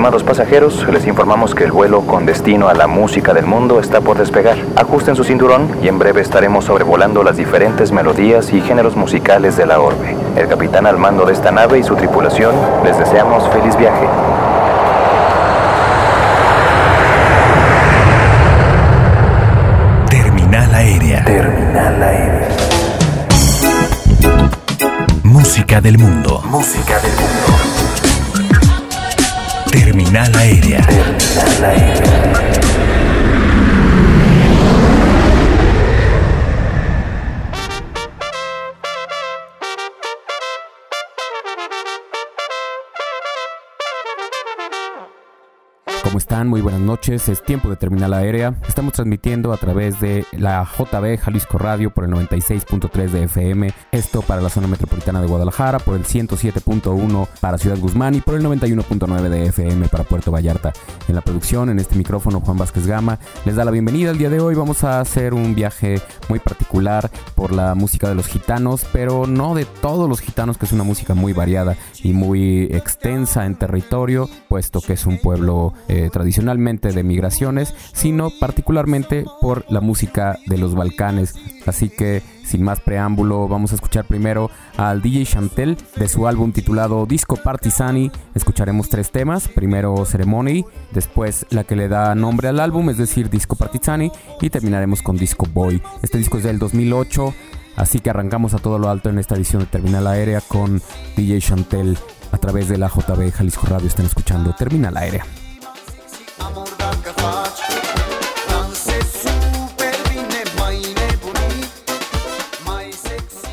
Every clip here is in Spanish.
Estimados pasajeros, les informamos que el vuelo con destino a la música del mundo está por despegar. Ajusten su cinturón y en breve estaremos sobrevolando las diferentes melodías y géneros musicales de la orbe. El capitán al mando de esta nave y su tripulación les deseamos feliz viaje. Terminal aérea. Terminal aérea. Música del mundo. Música del mundo. Terminal aérea. Terminal aérea. ¿Cómo están? Muy buenas noches, es tiempo de Terminal Aérea. Estamos transmitiendo a través de la JB Jalisco Radio por el 96.3 de FM, esto para la zona metropolitana de Guadalajara, por el 107.1 para Ciudad Guzmán y por el 91.9 de FM para Puerto Vallarta. En la producción, en este micrófono, Juan Vázquez Gama les da la bienvenida. El día de hoy vamos a hacer un viaje muy particular por la música de los gitanos, pero no de todos los gitanos, que es una música muy variada y muy extensa en territorio, puesto que es un pueblo tradicionalmente de migraciones, sino particularmente por la música de los Balcanes. Así que sin más preámbulo, vamos a escuchar primero al DJ Chantel de su álbum titulado Disco Partizani. Escucharemos 3 temas, primero Ceremony, después la que le da nombre al álbum, es decir, Disco Partizani, y terminaremos con Disco Boy. Este disco es del 2008, así que arrancamos a todo lo alto en esta edición de Terminal Aérea con DJ Chantel a través de la JB Jalisco Radio. Están escuchando Terminal Aérea. Amor, dacă faci, dansezi super bine, mai nebunit, mai sexy.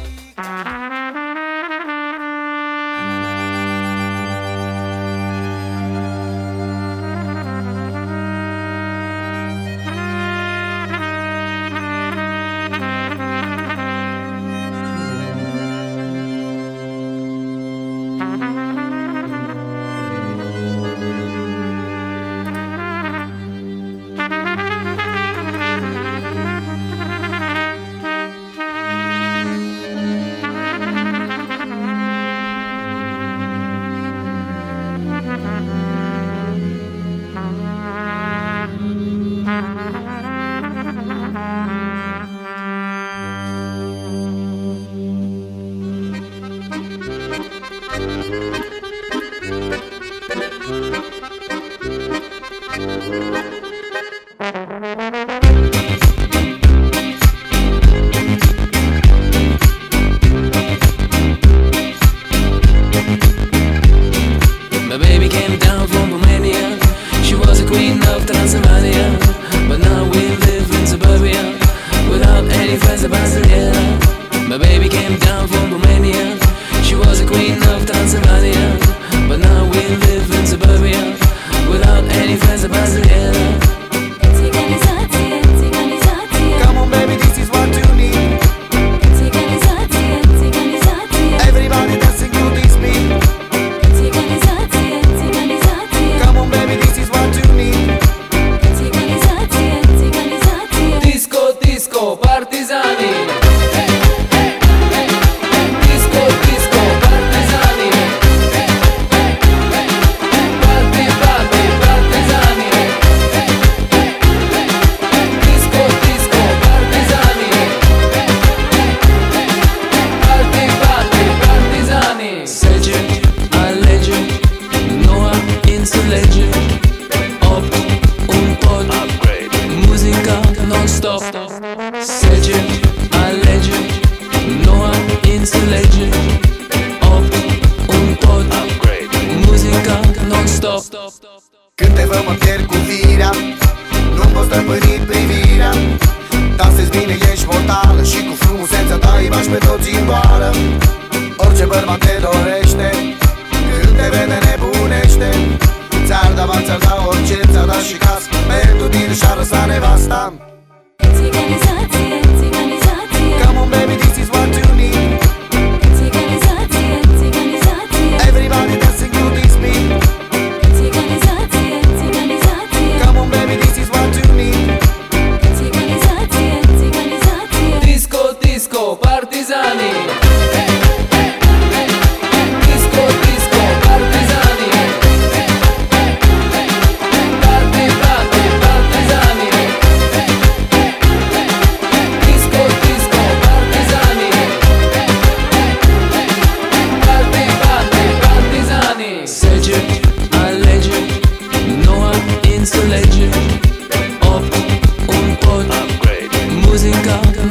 Partizani. Disco, disco, partizani.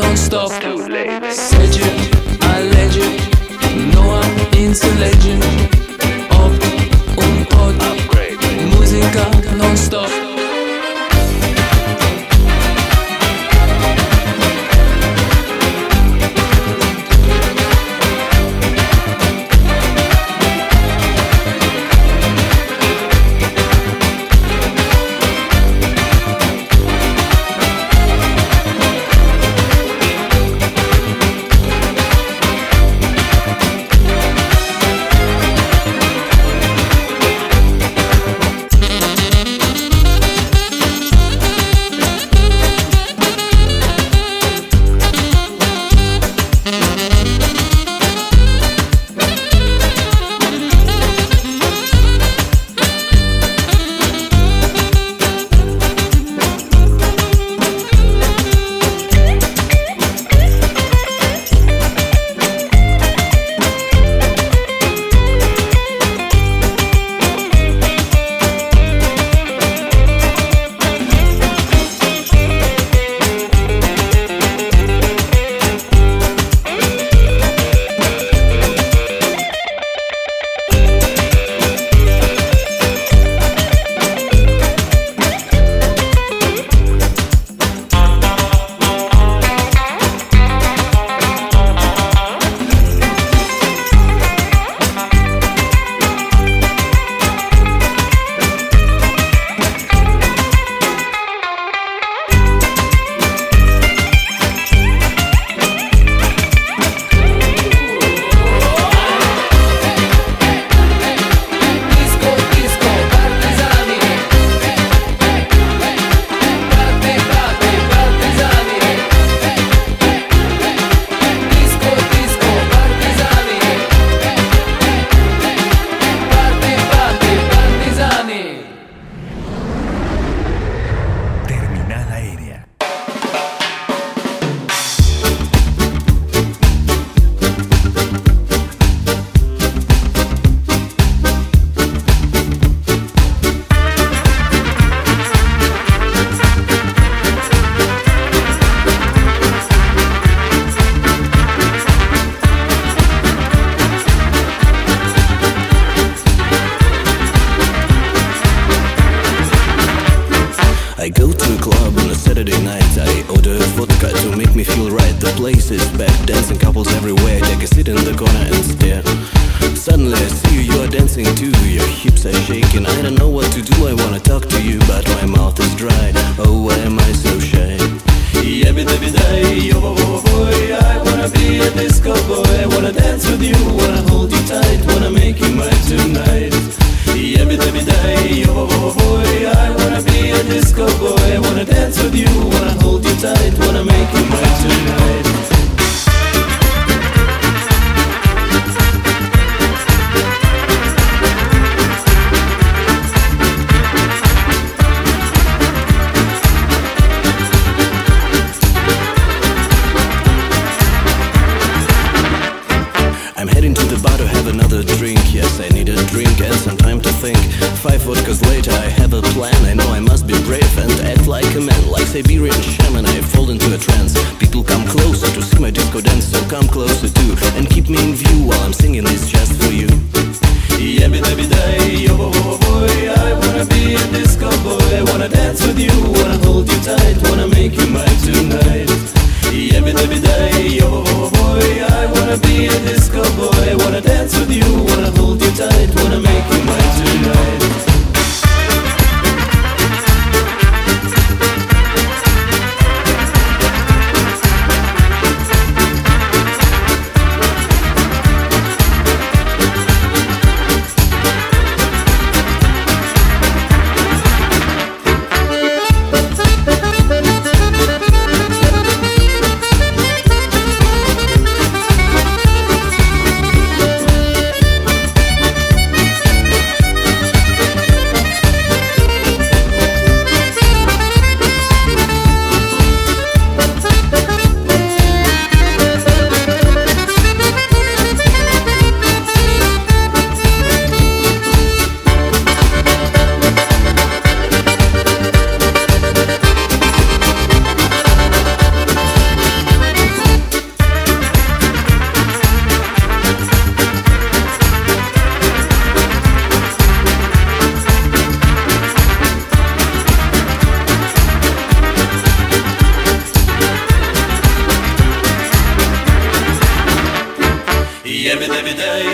non-stop. Legend, a legend, no I'm into legend. Opt und Pod, Musiker non-stop.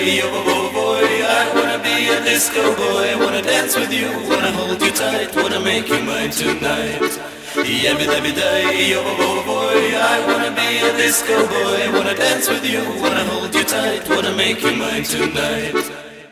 day, oh boy, I wanna be a disco boy. Wanna dance with you, wanna hold you tight, wanna make you mine tonight. Every day, oh boy, I wanna be a disco boy. Wanna dance with you, wanna hold you tight, wanna make you mine tonight.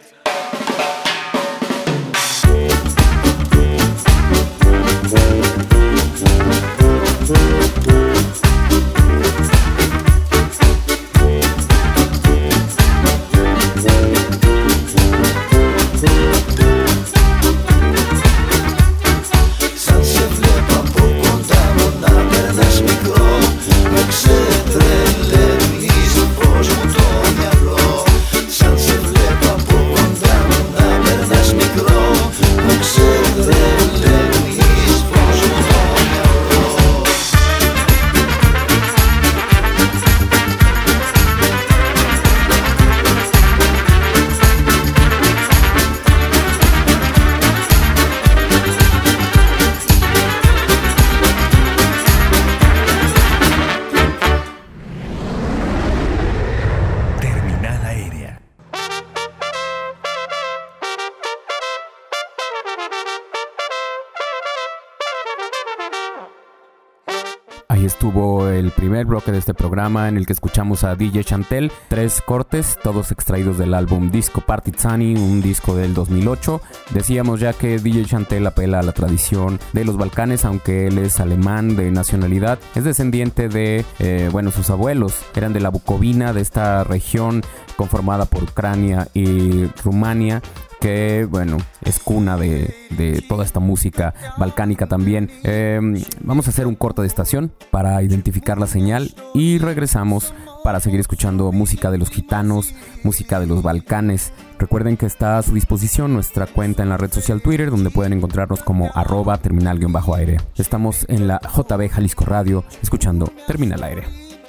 Ahí estuvo el primer bloque de este programa en el que escuchamos a DJ Chantel, 3 cortes, todos extraídos del álbum Disco Partizani, un disco del 2008. Decíamos ya que DJ Chantel apela a la tradición de los Balcanes, aunque él es alemán de nacionalidad. Es descendiente de, sus abuelos eran de la Bucovina, de esta región conformada por Ucrania y Rumania, que es cuna de toda esta música balcánica también. Vamos a hacer un corte de estación para identificar la señal y regresamos para seguir escuchando música de los gitanos, música de los Balcanes. Recuerden que está a su disposición nuestra cuenta en la red social Twitter, donde pueden encontrarnos como @terminal_aérea. Estamos en la JB Jalisco Radio escuchando Terminal Aérea.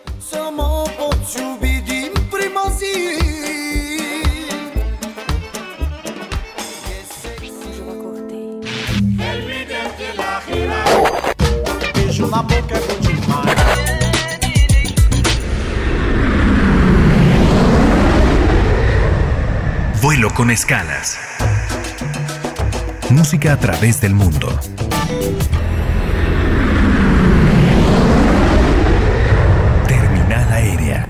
Vuelo con escalas. Música a través del mundo. Terminal Aérea.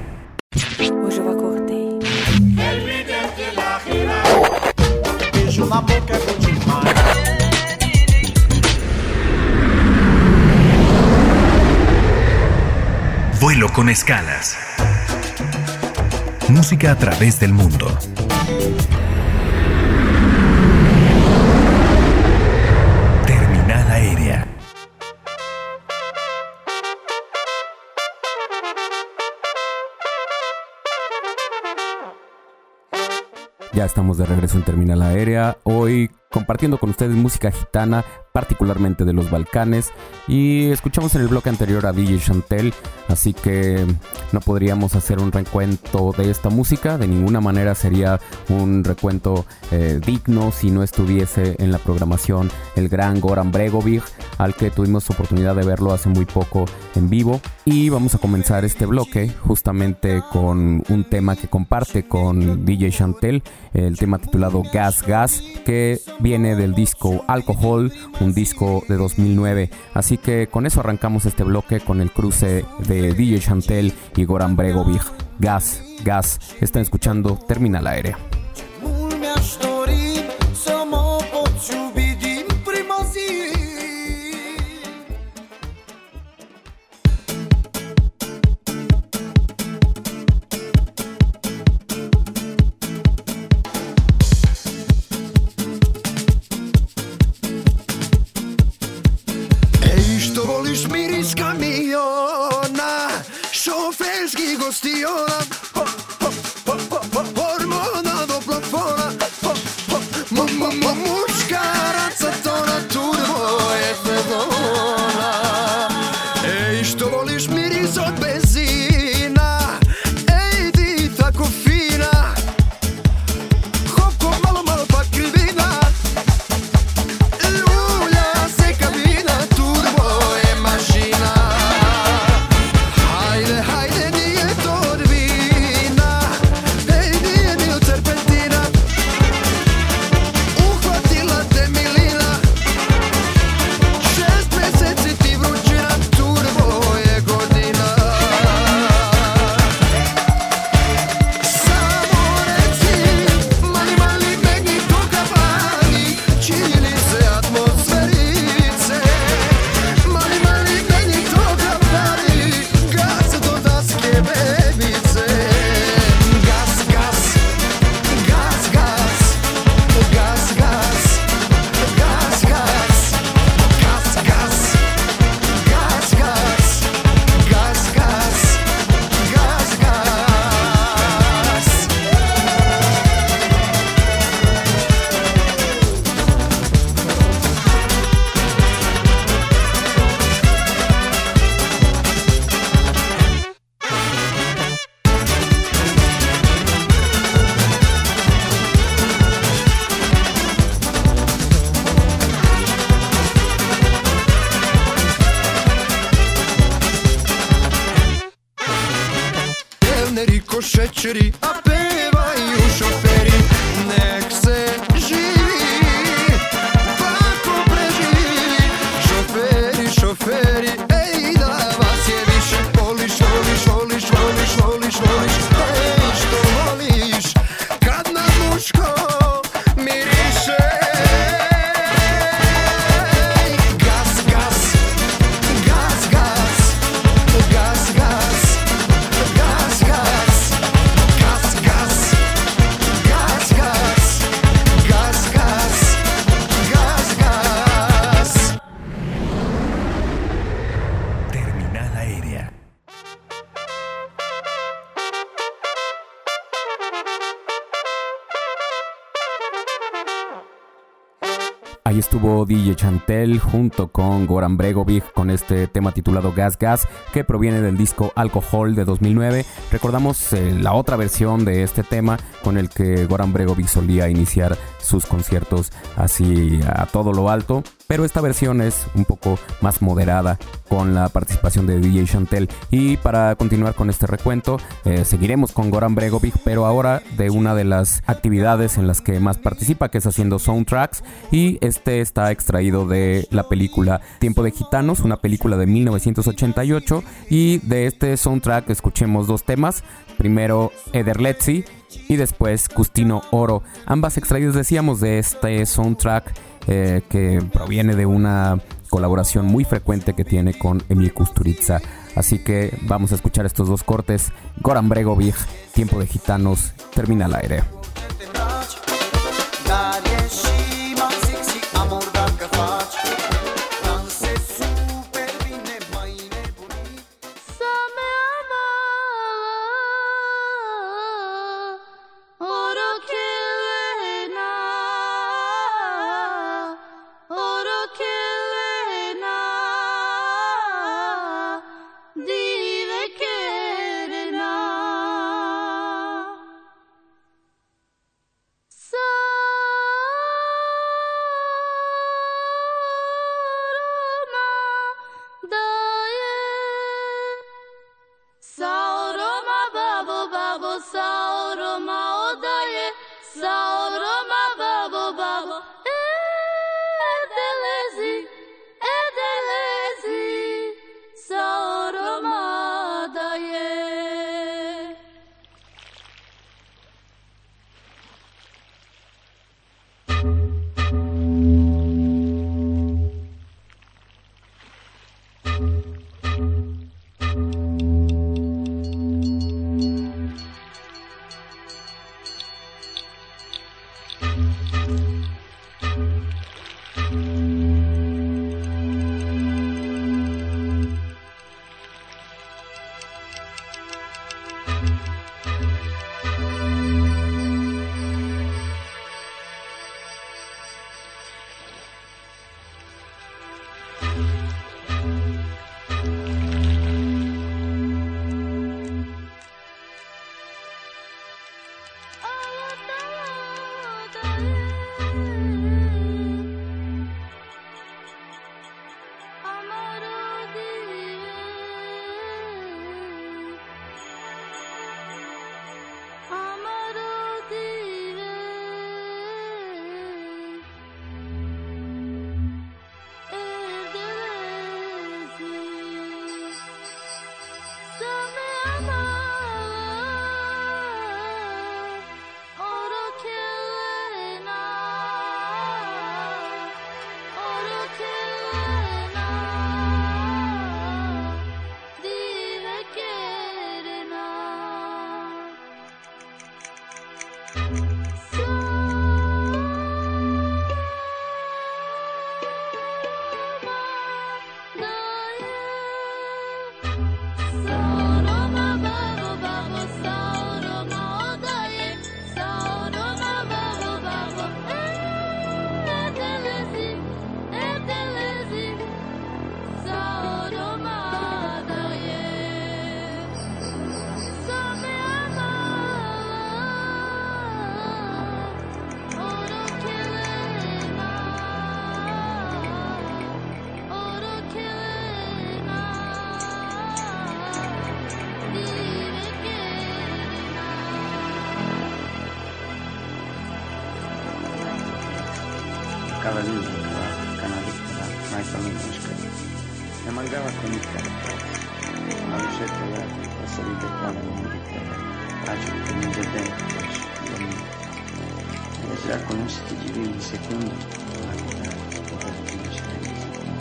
Vuelo con escalas. Música a través del mundo. Terminal Aérea. Ya estamos de regreso en Terminal Aérea. Hoy compartiendo con ustedes música gitana, particularmente de los Balcanes, y escuchamos en el bloque anterior a DJ Chantel, así que no podríamos hacer un recuento de esta música. De ninguna manera sería un recuento digno si no estuviese en la programación el gran Goran Bregovic, al que tuvimos oportunidad de verlo hace muy poco en vivo. Y vamos a comenzar este bloque justamente con un tema que comparte con DJ Chantel, el tema titulado Gas Gas, que viene del disco Alcohol, un disco de 2009. Así que con eso arrancamos este bloque con el cruce de DJ Chantel y Goran Bregovic. Gas Gas. Están escuchando Terminal Aérea. Hajde, nije to odbija. šećeri, a pevaju šoferi. Nek se živi, tako preživi. Šoferi, šoferi, ej da vas je više. Voliš, voliš, voliš, voliš, voliš, voliš. Ej što voliš, kad na muško miriše. Gas, gas, gas, gas, gas, gas, gas, gas, gas, gas, gas, gas, gas, gas, gas. Terminal aérea. Ahí estuvo DJ Chantel junto con Goran Bregovic con este tema titulado Gas Gas, que proviene del disco Alcohol de 2009. Recordamos la otra versión de este tema con el que Goran Bregovic solía iniciar sus conciertos así a todo lo alto, pero esta versión es un poco más moderada con la participación de DJ Chantel. Y para continuar con este recuento, seguiremos con Goran Bregovic, pero ahora de una de las actividades en las que más participa, que es haciendo soundtracks, y este está extraído de la película Tiempo de Gitanos, una película de 1988, y de este soundtrack escuchemos dos temas, primero Ederletzi y después Custino Oro, ambas extraídas, decíamos, de este soundtrack que proviene de una colaboración muy frecuente que tiene con Emil Kusturica. Así que vamos a escuchar estos dos cortes. Goran Bregovic, Tiempo de Gitanos, Terminal aérea. Ne mancava con il canto, ma lo scelta la salita qua nella militare, pace che non c'è dentro, e se la conosci di in secondo, la vita poteva conoscere in secondo.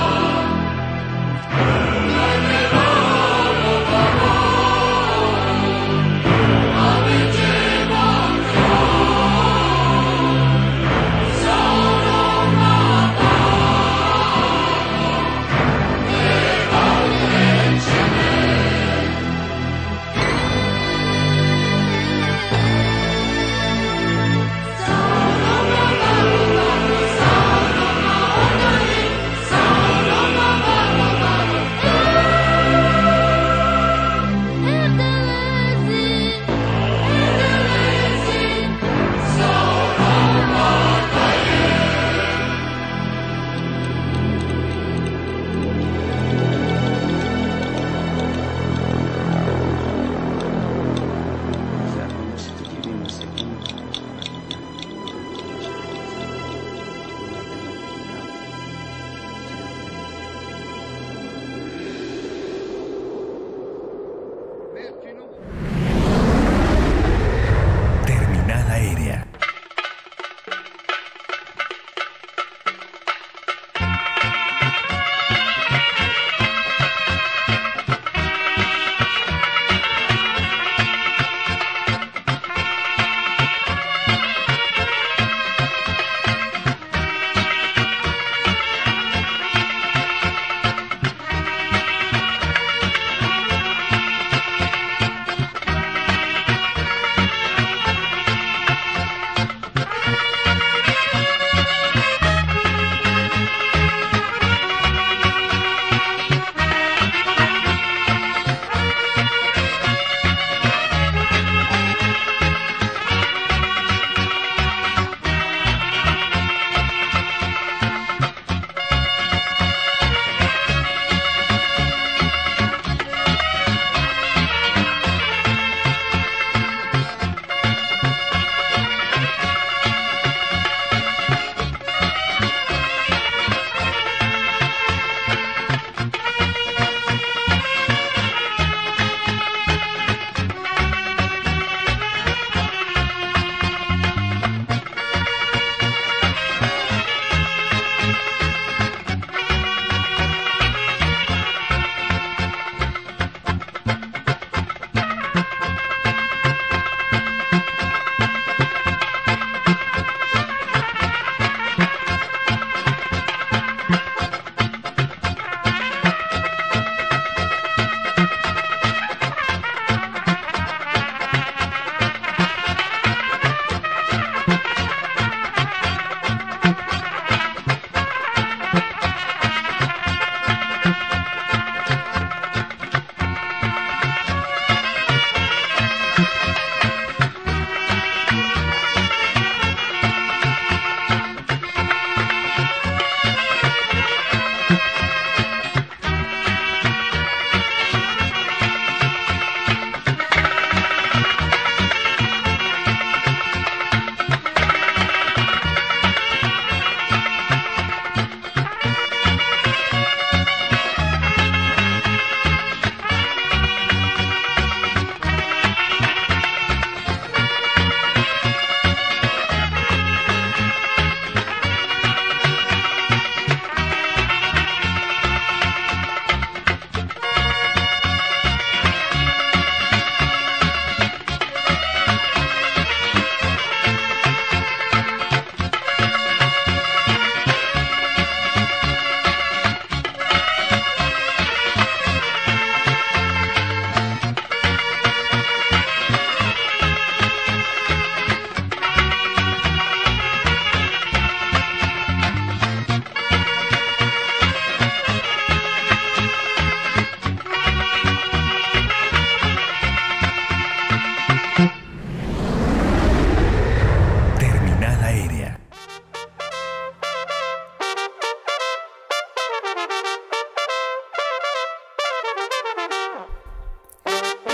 Oh,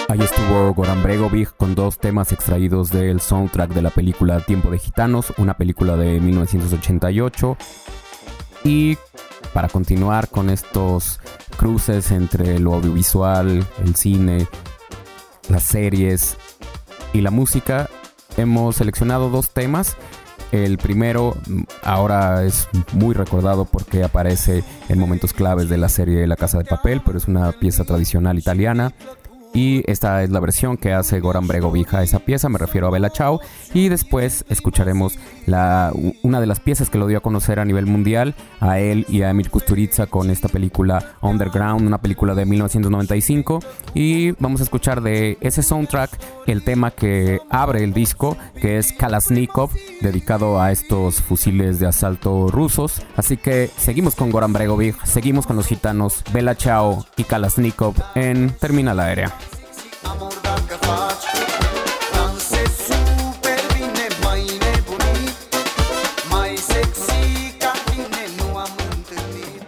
Ahí estuvo Goran Bregovic con dos temas extraídos del soundtrack de la película Tiempo de Gitanos, una película de 1988. Y para continuar con estos cruces entre lo audiovisual, el cine, las series y la música, hemos seleccionado dos temas. El primero ahora es muy recordado porque aparece en momentos claves de la serie La Casa de Papel, pero es una pieza tradicional italiana. Y esta es la versión que hace Goran Bregovic a esa pieza, me refiero a Bella Ciao. Y después escucharemos una de las piezas que lo dio a conocer a nivel mundial, a él y a Emir Kusturica, con esta película Underground, una película de 1995. Y vamos a escuchar de ese soundtrack el tema que abre el disco, que es Kalashnikov, dedicado a estos fusiles de asalto rusos. Así que seguimos con Goran Bregovic, seguimos con los gitanos, Bella Ciao y Kalashnikov en Terminal Aérea. Amor dacă faci, danse super bine, mai nebunit, mai sexy ca tine nu am întâlnit.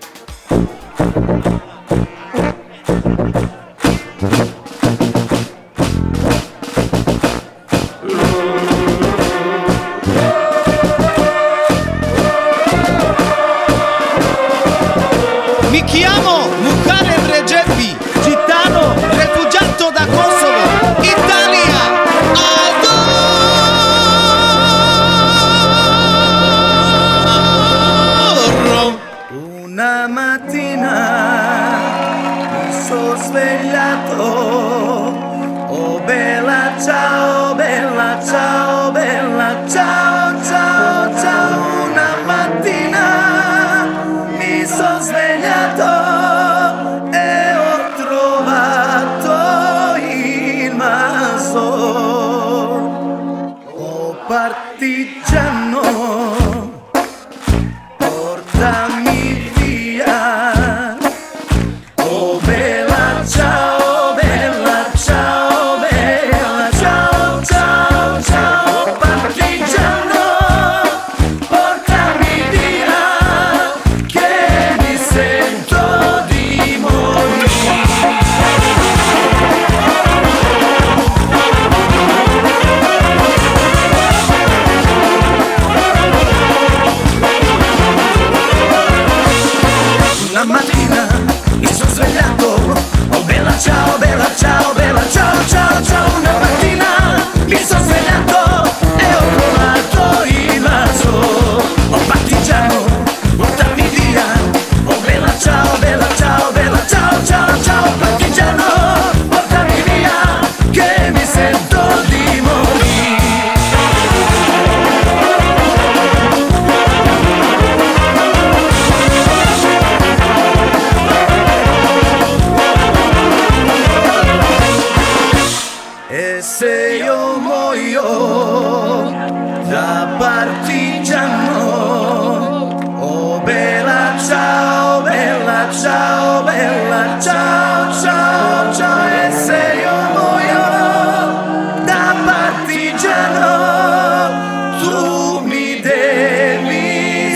Mi chiamo Muharrem Regepi, gitano, refugiato da Kosovo, Italia, adoro. Una mattina mi sono svegliato, oh bella ciao, bella ciao, bella ciao, ciao, ciao. Una mattina mi sono svegliato e ho trovato il Masor. Oh partigiano, portami via. Oh bella ciao, bella ciao, bella ciao, ciao, ciao. Partigiano, portami via, che mi sento di morire. Una mattina mi sono svegliato, oh bella ciao, bella ciao, bella ciao, ciao, ciao. Una mattina mi sono svegliato e ho trovato il vaso. Oh partigiano, portami via, oh bella ciao, bella ciao, bella ciao, ciao, ciao. Partigiano, portami via, che mi sento di morire. E se io muoio da partigiano, oh bella ciao, bella ciao, bella ciao, ciao, ciao. E se io muoio da partigiano, tu mi devi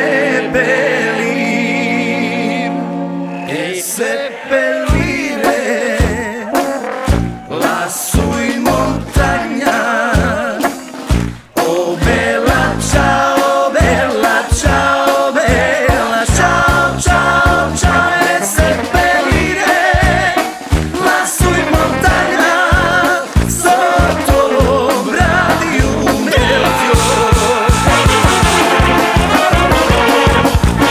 seppellire e seppellire lassù in montagna. Oh bella ciao, bella ciao, bella ciao, ciao, ciao. E seppellire lassù in montagna, sotto l'ombra di un bel fiore.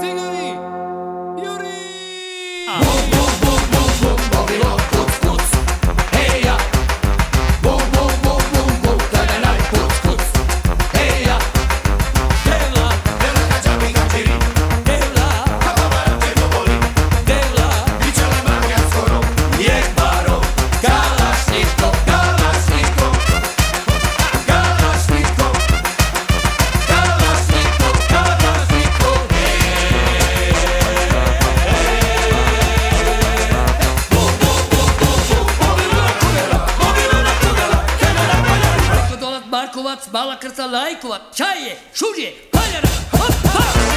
Bala krca lajkova, čaje, šužje, paljara, hop, hop!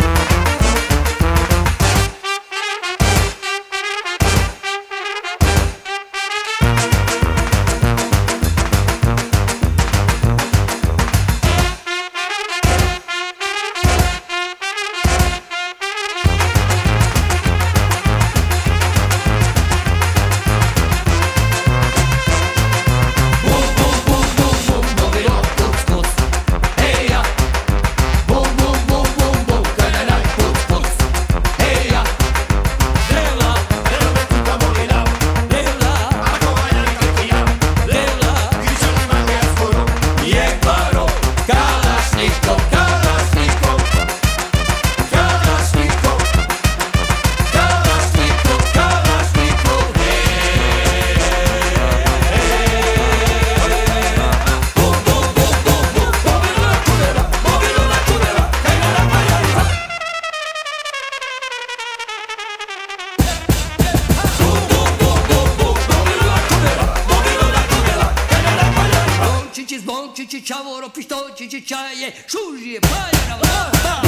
Čavoro, pištolčići, čaje, šužije, paljara, hop,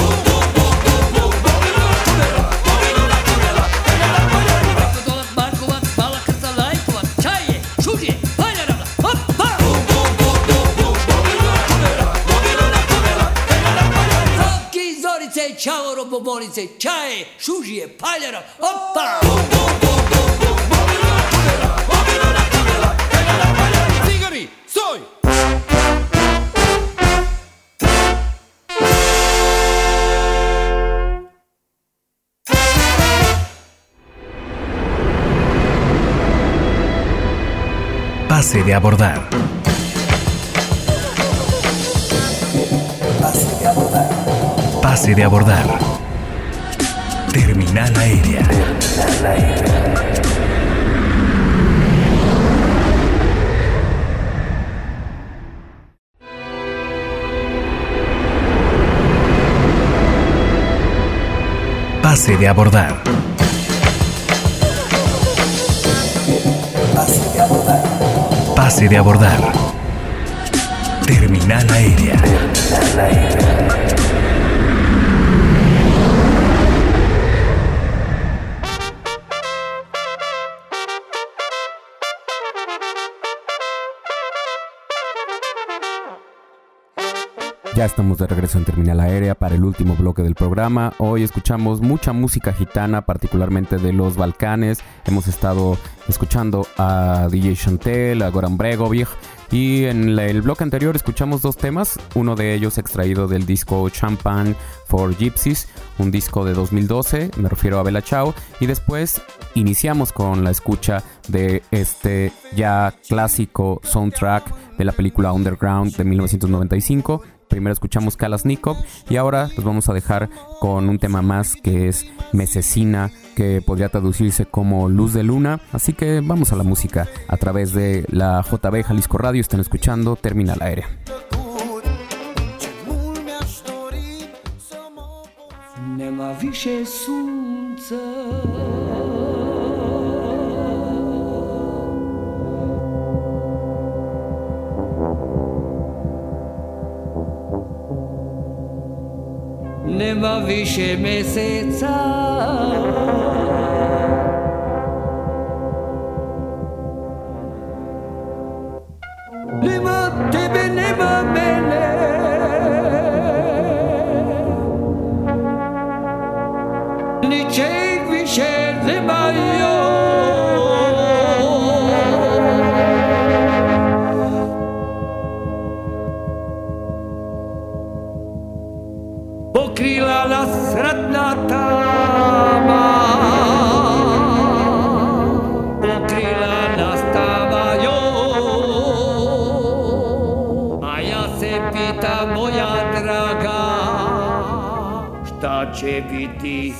dolat, Markovac, bala krca lajkovac, čaje, šužije, paljara, hop, Sopki, zorice, čavoro, bobonice, čaje, šužije, paljara, hopa! Cigari, stoj! Pase de abordar. Pase de abordar. Terminal aérea. Pase de abordar. Pase de abordar. Terminal aérea. Ya estamos de regreso en Terminal Aérea para el último bloque del programa. Hoy escuchamos mucha música gitana, particularmente de los Balcanes. Hemos estado escuchando a DJ Chantel, a Goran Bregovic. Y en el bloque anterior escuchamos dos temas, uno de ellos extraído del disco Champagne for Gypsies, un disco de 2012, me refiero a Bella Ciao, y después iniciamos con la escucha de este ya clásico soundtrack de la película Underground de 1995. Primero escuchamos Kalashnikov y ahora los vamos a dejar con un tema más que es Mesesina, que podría traducirse como Luz de Luna. Así que vamos a la música a través de la JB Jalisco Radio. Están escuchando Terminal Aérea. Nema više sunca, nema više meseca, nema tebe, nema mene, ničeg više nema joj. Pokrila nas ratna će biti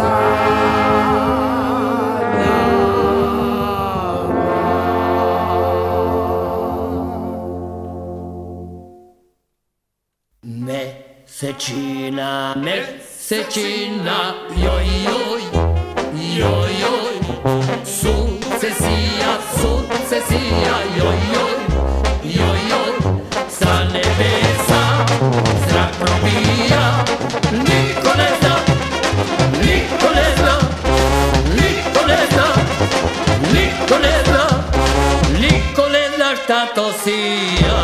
Mesečina, mesečina, joj, joj, joj, joj, sukcesija, sukcesija, joj, joj, joj, joj, sa nebesa zrak probija, niko ne zna, niko ne zna, niko ne zna, niko ne zna, niko ne zna šta to sija.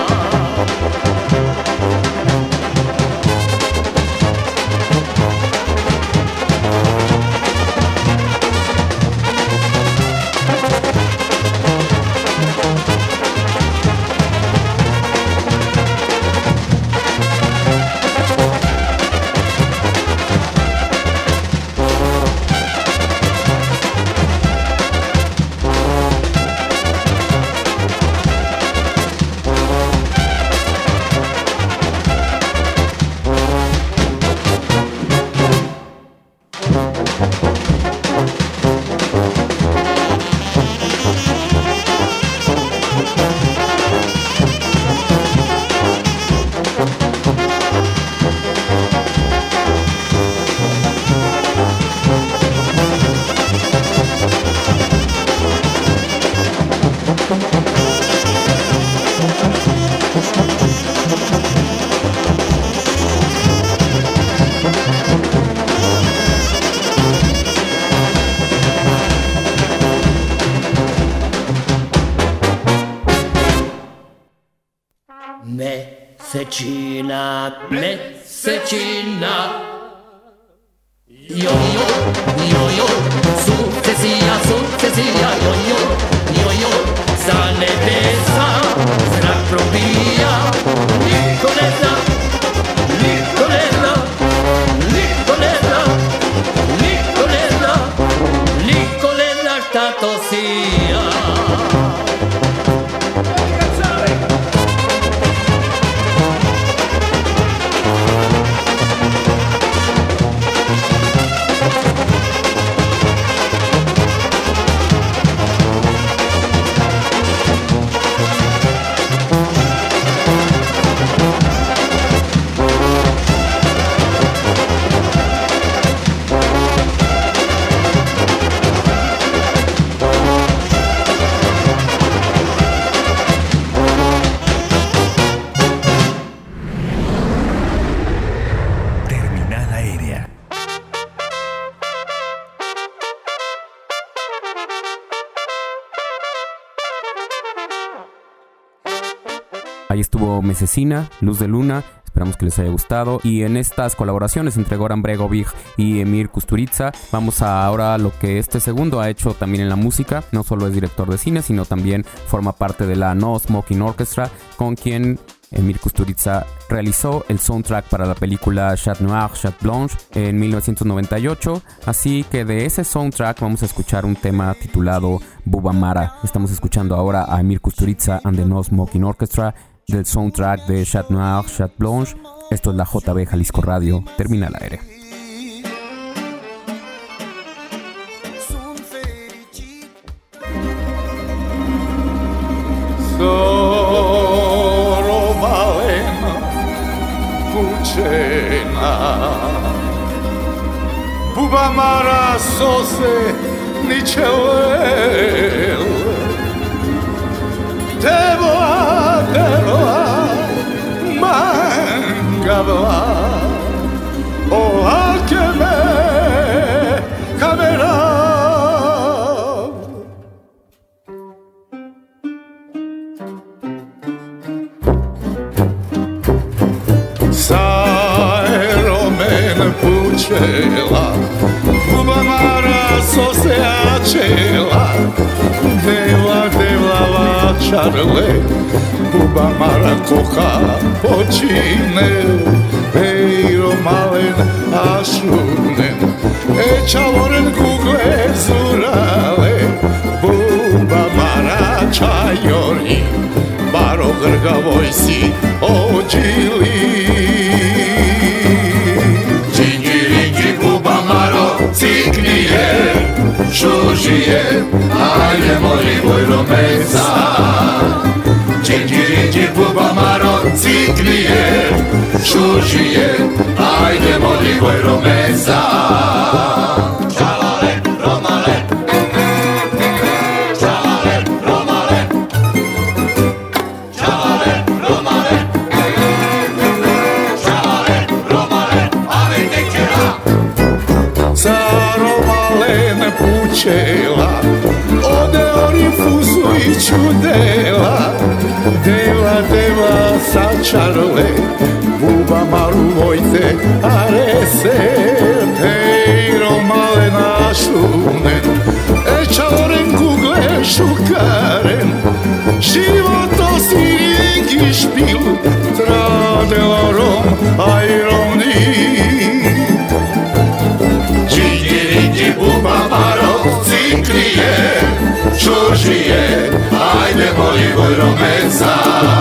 Mesečina, mesečina, joj, joj, joj, joj, sukcesija, sukcesija, joj, joj, joj, joj, sa nebesa zrak probija, niko ne zna, niko ne zna, niko ne zna, niko ne zna, niko ne zna šta to sija. Ahí estuvo Mesecina, Luz de Luna. Esperamos que les haya gustado. Y en estas colaboraciones entre Goran Bregovic y Emir Kusturica, vamos ahora a lo que este segundo ha hecho también en la música. No solo es director de cine, sino también forma parte de la No Smoking Orchestra, con quien Emir Kusturica realizó el soundtrack para la película Chat Noir, Chat Blanche en 1998. Así que de ese soundtrack vamos a escuchar un tema titulado Bubamara. Estamos escuchando ahora a Emir Kusturica and the No Smoking Orchestra del soundtrack de Chat Noir, Chat Blanche. Esto es la JB Jalisco Radio. Termina el aire. Bubamara sose ničelel Teboa, teboa, mangabla O alkeme kamera Pučela, Bubamara sose ačela, Deva, deva čarle, Bubamara koha počine, Eiro malen ašunen, Čavoren kugle zurale, Bubamara čajori, Baro grgavoj si ođili. Jinjiring ajdemo Libojro mesa. Džinđi buba maro ciklije, šužije, ajdemo Libojro mesa. Čalale, romale, čalale, romale, čalale, romale, čalale, romale, ave tekera. Sa romale me pučela, ode orifusu i čudela. Deva sa čarole, buba maru vojte arese. Hej, romale našunen, čaloren kugle šukaren. Životo si ringi špil, tradela rom, aj romni. Džinđi buba maro ciklije, šužije, ajdemo Libojro mesa.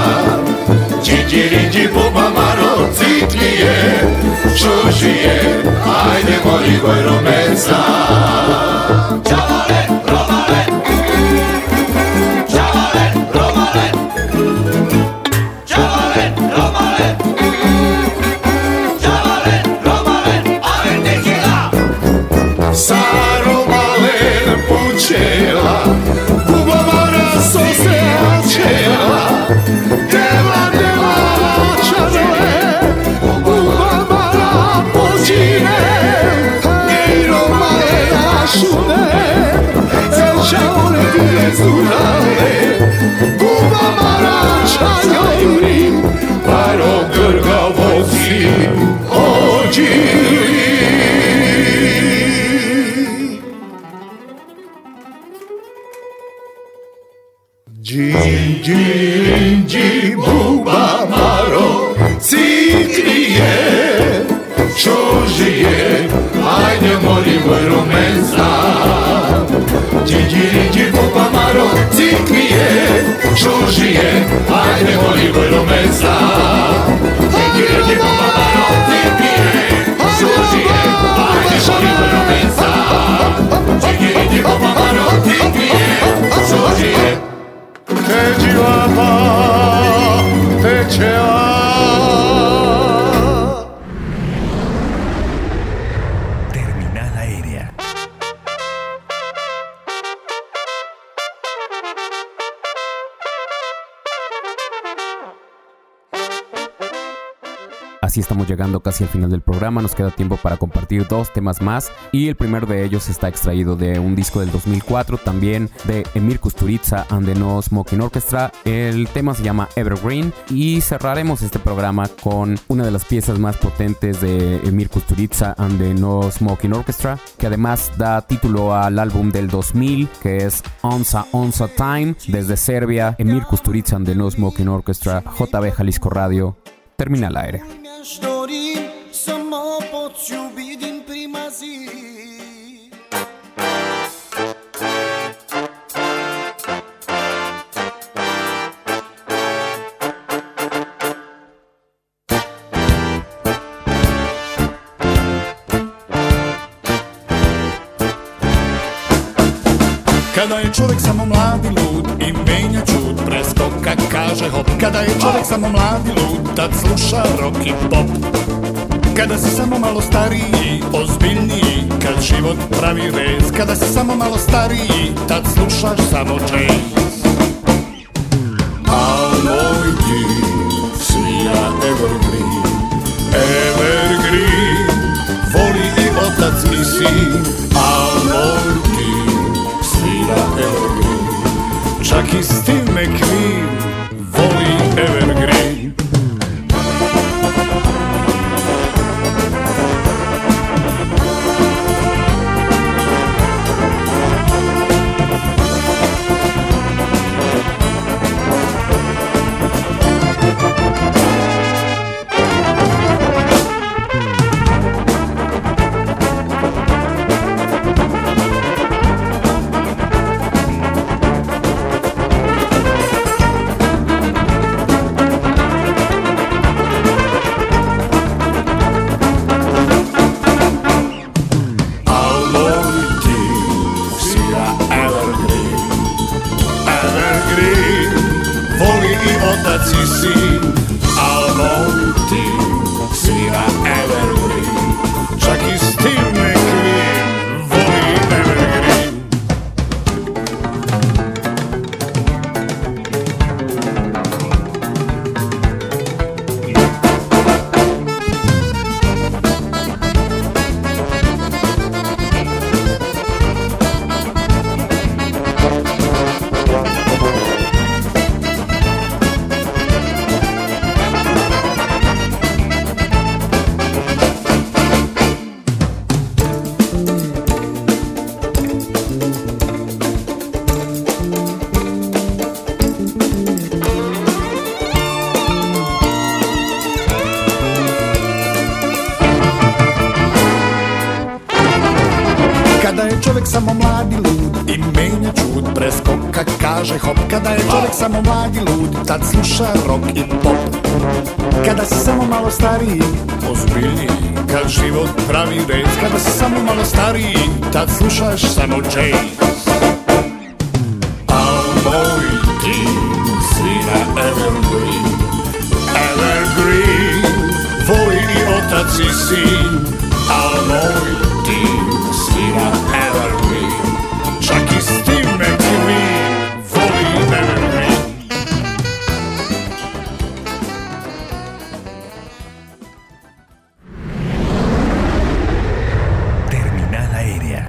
Džinđi buba maro ciklije, šužije, ajdemo Libojro mesa. Čalale, romale, čalale, romale, čalale, romale, čalale, romale, ave tekila. Sa romale pučela, deva čarole, buba mara počine. Hej, romale našune, čaole bile zurale, buba mara čajori, paro grga vozi ođili. Džinđi buba maro ciklije, šužije, ajdemo Libojro mesa. Džinđi buba maro ciklije, šužije, ajdemo Libojro mesa. Džinđi buba maro ciklije, šužije, ajdemo Libojro mesa. Džinđi buba maro ciklije, šužije. Terminal aérea. Así estamos llegando casi al final del programa, nos queda tiempo para compartir dos temas más y el primero de ellos está extraído de un disco del 2004, también de Emir Kusturica and the No Smoking Orchestra. El tema se llama Evergreen y cerraremos este programa con una de las piezas más potentes de Emir Kusturica and the No Smoking Orchestra, que además da título al álbum del 2000 que es Onza Time. Desde Serbia, Emir Kusturica and the No Smoking Orchestra, JB Jalisco Radio, Terminal aérea. Samo poću vidim primazi. Kada je čovjek samo mladi lud i menja čud, preskoka kaže hop. Kada je čovjek samo mladi lud, tad sluša rock i pop. Kada si samo malo stariji, ozbiljniji, kad život pravi rez. Kada si samo malo stariji, tad slušaš samo jazz. A moj ti svira Evergreen, Evergreen, voli i otac i sin. A moj ti svira Evergreen, čak i Steve McQueen voli Evergreen. Kada je čovjek samo mlad i lud i menja čud, preskoka kaže hop. Kada je čovjek samo mlad i lud, tad sluša rock i pop. Kada si samo malo stariji, ozbiljniji, kad život pravi rez. Kada si samo malo stariji, tad slušaš samo jazz. Al moj ti si na Evergreen, Evergreen, tvoj i otac i sin. Al moj ti si na Evergreen, čak i Steve McQueen voli Evergreen. Terminal aérea.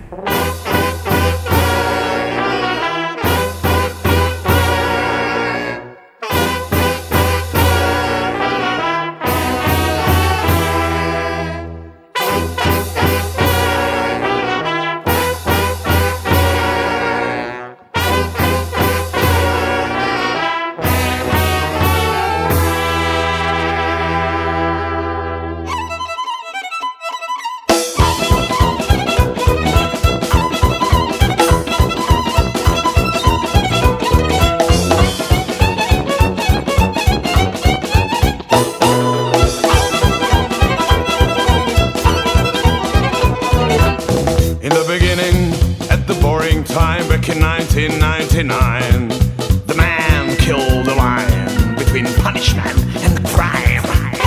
Back in 1999, the man killed the line between punishment and crime.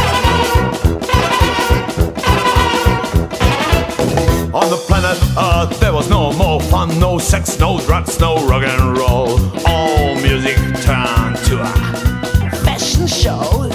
On the planet Earth there was no more fun, no sex, no drugs, no rock and roll. All music turned to a fashion show.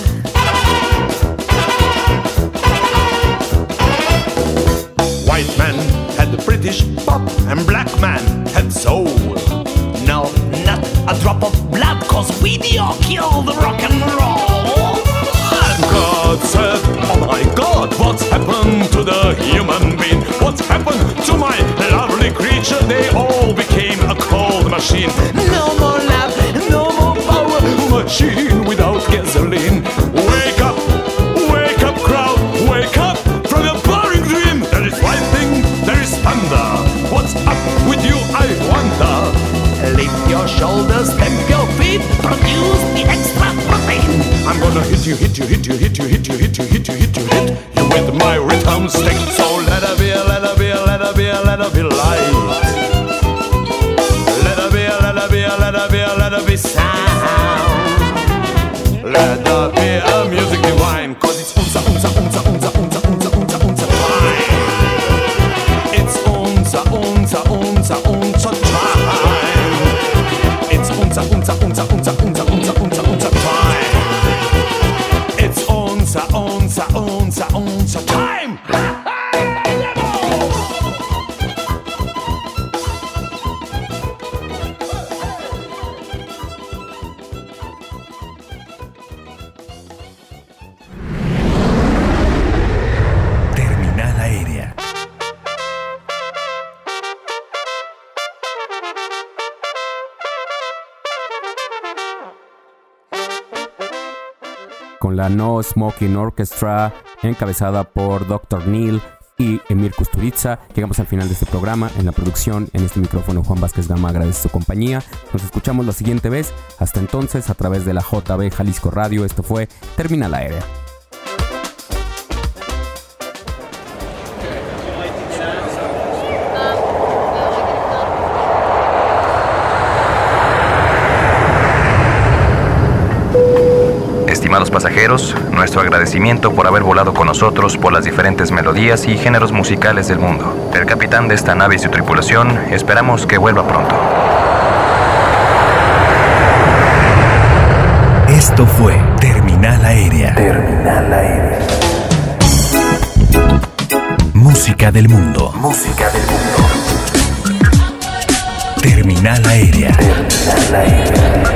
White man had the British pop and black man had soul. No, not a drop of blood, cause video killed the rock and roll. And God said, oh my God, what's happened to the human being? What's happened to my lovely creature? They all became a cold machine. No more love, no more power, machine without gasoline. Wake up crowd, wake up from your boring dream. There is lightning, there is thunder. What's up with you, I wonder? Lift your shoulders, stamp your feet, produce the extra protein. I'm gonna hit you with my rhythm stick. So let her be, let her be, let her be, let her be light. Let her be, let her be, let her be, let her be sound. Let her be a music divine, cause it's unza time. It's unza time. It's unza time. Terminal aérea. Con la No Smoking Orchestra, encabezada por Dr. Neil y Emir Kusturica, llegamos al final de este programa. En la producción, en este micrófono, Juan Vázquez Gama agradece su compañía. Nos escuchamos la siguiente vez. Hasta entonces, a través de la JB Jalisco Radio, esto fue Terminal Aérea. Estimados pasajeros, nuestro agradecimiento por haber volado con nosotros por las diferentes melodías y géneros musicales del mundo. El capitán de esta nave y su tripulación, esperamos que vuelva pronto. Esto fue Terminal Aérea. Terminal aérea. Música del mundo. Música del mundo. Terminal Aérea. Terminal aérea.